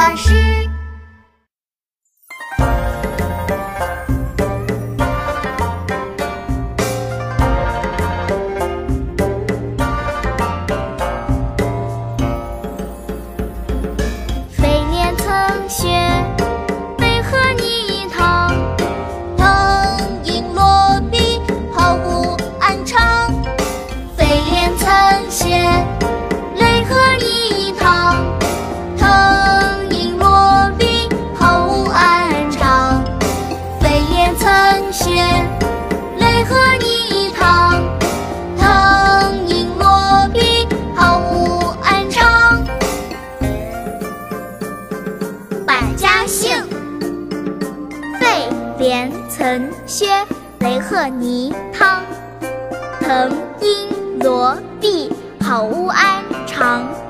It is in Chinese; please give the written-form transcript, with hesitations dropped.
巴士。 飞廉曾学，为何泥塘？ 腾影落笔，好无安常。 飞廉曾学，为何泥塘？腾影落笔，好无安常。飞廉曾学，为何泥塘？腾影落笔，好无安常。百家姓。飞廉曾学，为何泥塘？腾影落笔，好无安常。